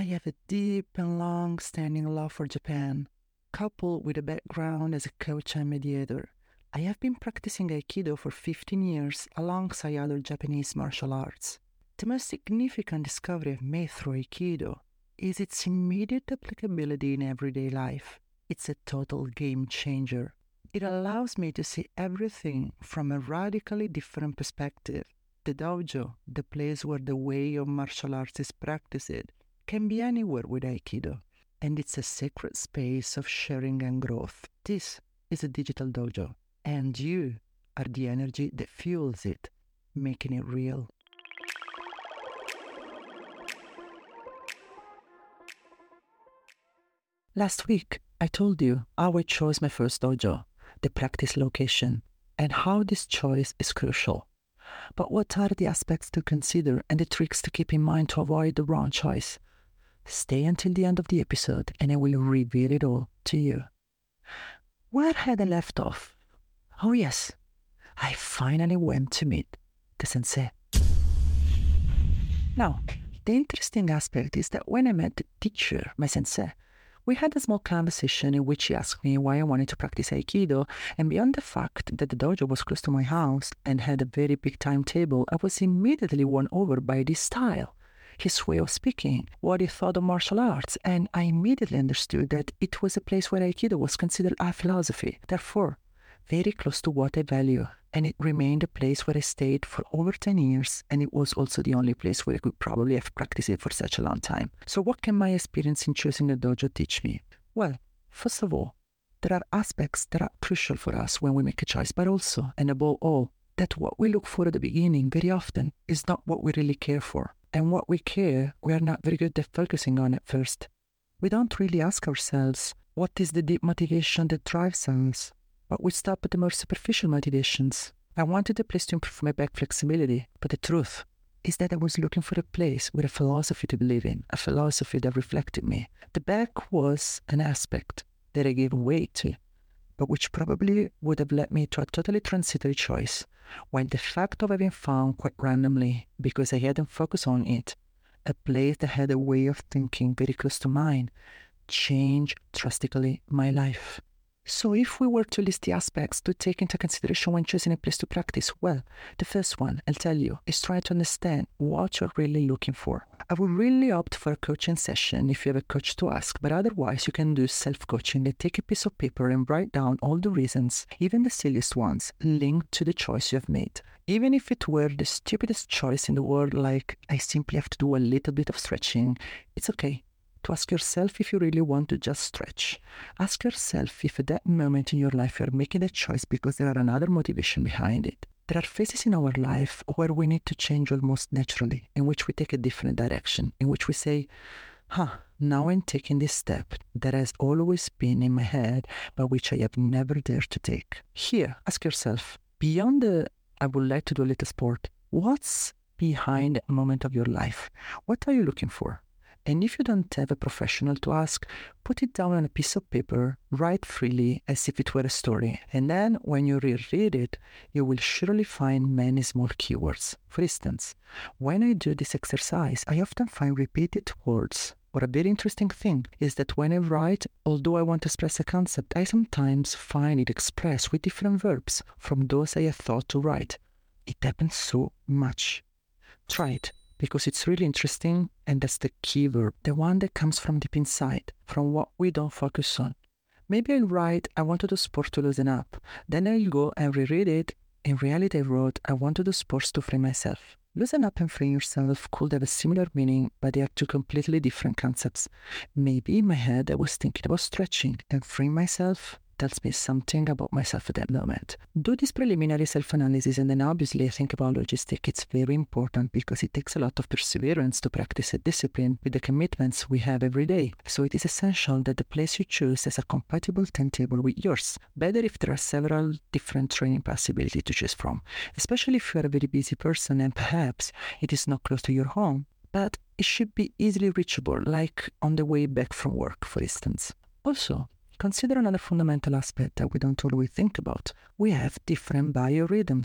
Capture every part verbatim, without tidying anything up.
have a deep and long-standing love for Japan, coupled with a background as a coach and mediator. I have been practicing Aikido for fifteen years alongside other Japanese martial arts. The most significant discovery I've made through Aikido is its immediate applicability in everyday life. It's a total game changer. It allows me to see everything from a radically different perspective. The dojo, the place where the way of martial arts is practiced, can be anywhere with Aikido, and it's a sacred space of sharing and growth. This is a digital dojo, and you are the energy that fuels it, making it real. Last week, I told you how I chose my first dojo, the practice location, and how this choice is crucial. But what are the aspects to consider and the tricks to keep in mind to avoid the wrong choice? Stay until the end of the episode and I will reveal it all to you. Where had I left off? Oh yes, I finally went to meet the sensei. Now, the interesting aspect is that when I met the teacher, my sensei, we had a small conversation in which he asked me why I wanted to practice Aikido, and beyond the fact that the dojo was close to my house and had a very big timetable, I was immediately won over by this style, his way of speaking, what he thought of martial arts, and I immediately understood that it was a place where Aikido was considered a philosophy, therefore very close to what I value, and it remained a place where I stayed for over ten years, and it was also the only place where I could probably have practiced it for such a long time. So what can my experience in choosing a dojo teach me? Well, first of all, there are aspects that are crucial for us when we make a choice, but also, and above all, that what we look for at the beginning very often is not what we really care for. And what we care, we are not very good at focusing on at first. We don't really ask ourselves, what is the deep motivation that drives us? But we stop at the more superficial motivations. I wanted a place to improve my back flexibility, but the truth is that I was looking for a place with a philosophy to believe in, a philosophy that reflected me. The back was an aspect that I gave weight to, but which probably would have led me to a totally transitory choice, while the fact of having found quite randomly, because I hadn't focused on it, a place that had a way of thinking very close to mine, changed drastically my life. So if we were to list the aspects to take into consideration when choosing a place to practice, well, the first one, I'll tell you, is try to understand what you're really looking for. I would really opt for a coaching session if you have a coach to ask, but otherwise you can do self-coaching and take a piece of paper and write down all the reasons, even the silliest ones, linked to the choice you have made. Even if it were the stupidest choice in the world, like I simply have to do a little bit of stretching, it's okay to ask yourself if you really want to just stretch. Ask yourself if at that moment in your life you're making that choice because there are another motivation behind it. There are phases in our life where we need to change almost naturally, in which we take a different direction, in which we say, huh, now I'm taking this step that has always been in my head, but which I have never dared to take. Here, ask yourself, beyond the, I would like to do a little sport, what's behind that moment of your life? What are you looking for? And if you don't have a professional to ask, put it down on a piece of paper, write freely as if it were a story. And then when you reread it, you will surely find many small keywords. For instance, when I do this exercise, I often find repeated words. Or a very interesting thing is that when I write, although I want to express a concept, I sometimes find it expressed with different verbs from those I have thought to write. It happens so much. Try it, because it's really interesting, and that's the key verb, the one that comes from deep inside, from what we don't focus on. Maybe I'll write, I want to do sport to loosen up. Then I'll go and reread it. In reality, I wrote, I want to do sports to free myself. Loosen up and free yourself could have a similar meaning, but they are two completely different concepts. Maybe in my head I was thinking about stretching, and freeing myself tells me something about myself at that moment. Do this preliminary self-analysis, and then obviously think about logistics. It's very important because it takes a lot of perseverance to practice a discipline with the commitments we have every day. So it is essential that the place you choose has a compatible timetable with yours. Better if there are several different training possibilities to choose from, especially if you are a very busy person and perhaps it is not close to your home, but it should be easily reachable, like on the way back from work, for instance. Also, consider another fundamental aspect that we don't always think about. We have different biorhythms.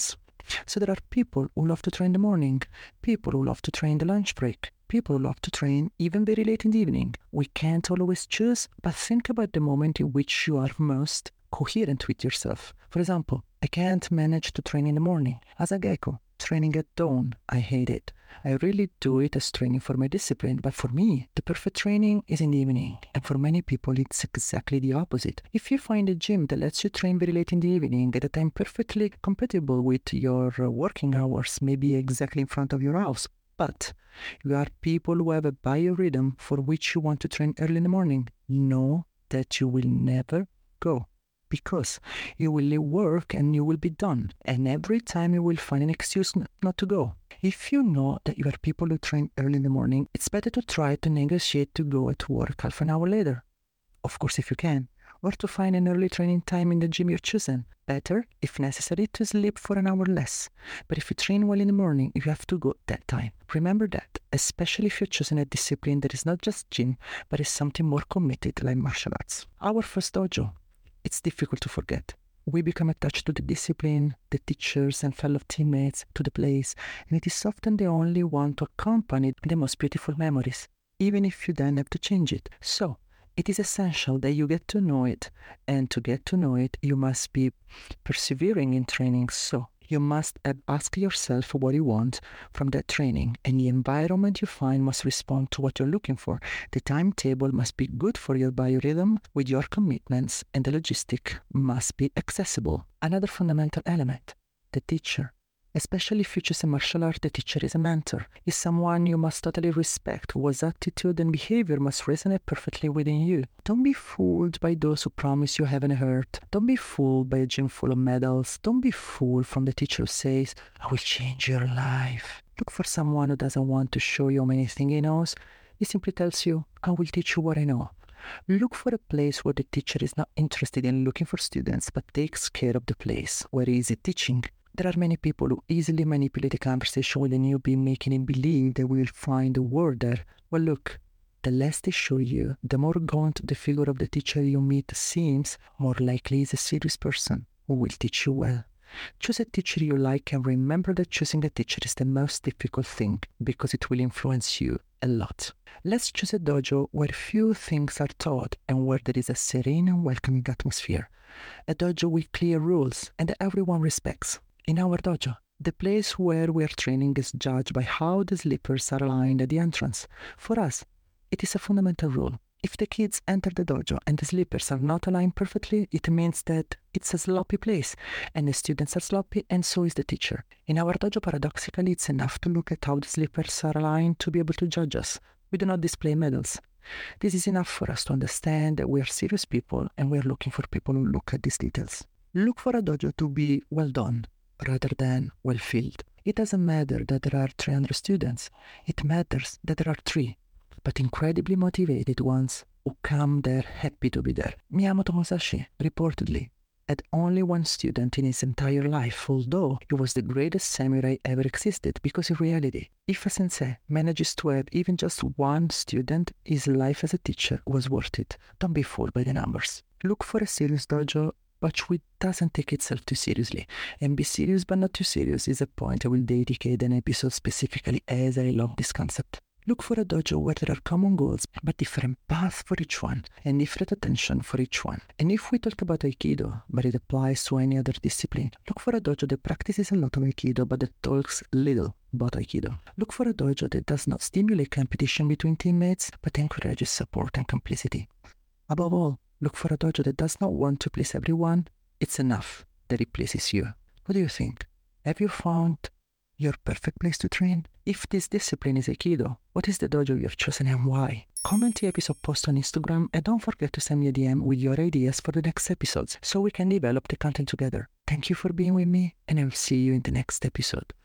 So there are people who love to train in the morning, people who love to train the lunch break, people who love to train even very late in the evening. We can't always choose, but think about the moment in which you are most coherent with yourself. For example, I can't manage to train in the morning. As a gecko, training at dawn, I hate it. I really do it as training for my discipline, but for me, the perfect training is in the evening. And for many people, it's exactly the opposite. If you find a gym that lets you train very late in the evening at a time perfectly compatible with your working hours, maybe exactly in front of your house, but you are people who have a biorhythm for which you want to train early in the morning, know that you will never go. Because you will leave work and you will be done. And every time you will find an excuse not to go. If you know that you are people who train early in the morning, it's better to try to negotiate to go at work half an hour later. Of course, if you can. Or to find an early training time in the gym you're choosing. Better, if necessary, to sleep for an hour less. But if you train well in the morning, you have to go at that time. Remember that, especially if you're choosing a discipline that is not just gym, but is something more committed like martial arts. Our first dojo. It's difficult to forget. We become attached to the discipline, the teachers and fellow teammates, to the place, and it is often the only one to accompany the most beautiful memories, even if you then have to change it. So, it is essential that you get to know it, and to get to know it, you must be persevering in training. So, you must ask yourself what you want from that training, and the environment you find must respond to what you're looking for. The timetable must be good for your biorhythm with your commitments, and the logistic must be accessible. Another fundamental element, the teacher. Especially if you choose a martial art, the teacher is a mentor, is someone you must totally respect, whose attitude and behavior must resonate perfectly within you. Don't be fooled by those who promise you heaven and earth. Don't be fooled by a gym full of medals. Don't be fooled from the teacher who says, I will change your life. Look for someone who doesn't want to show you how many things he knows. He simply tells you, I will teach you what I know. Look for a place where the teacher is not interested in looking for students, but takes care of the place where he is teaching. There are many people who easily manipulate a conversation with a newbie, making him believe they will find a word there. Well, look, the less they show you, the more gaunt the figure of the teacher you meet seems, more likely is a serious person who will teach you well. Choose a teacher you like, and remember that choosing a teacher is the most difficult thing because it will influence you a lot. Let's choose a dojo where few things are taught and where there is a serene and welcoming atmosphere. A dojo with clear rules and that everyone respects. In our dojo, the place where we are training is judged by how the slippers are aligned at the entrance. For us, it is a fundamental rule. If the kids enter the dojo and the slippers are not aligned perfectly, it means that it's a sloppy place, and the students are sloppy, and so is the teacher. In our dojo, paradoxically, it's enough to look at how the slippers are aligned to be able to judge us. We do not display medals. This is enough for us to understand that we are serious people, and we are looking for people who look at these details. Look for a dojo to be well done, rather than well-filled. It doesn't matter that there are three hundred students. It matters that there are three, but incredibly motivated ones who come there happy to be there. Miyamoto Musashi, reportedly, had only one student in his entire life, although he was the greatest samurai ever existed, because in reality, if a sensei manages to have even just one student, his life as a teacher was worth it. Don't be fooled by the numbers. Look for a serious dojo, but which doesn't take itself too seriously. And be serious but not too serious is a point I will dedicate an episode specifically, as I love this concept. Look for a dojo where there are common goals, but different paths for each one, and different attention for each one. And if we talk about Aikido, but it applies to any other discipline, look for a dojo that practices a lot of Aikido, but that talks little about Aikido. Look for a dojo that does not stimulate competition between teammates, but encourages support and complicity. Above all, look for a dojo that does not want to please everyone. It's enough that it pleases you. What do you think? Have you found your perfect place to train? If this discipline is Aikido, what is the dojo you've chosen and why? Comment the episode post on Instagram, and don't forget to send me a D M with your ideas for the next episodes so we can develop the content together. Thank you for being with me, and I will see you in the next episode.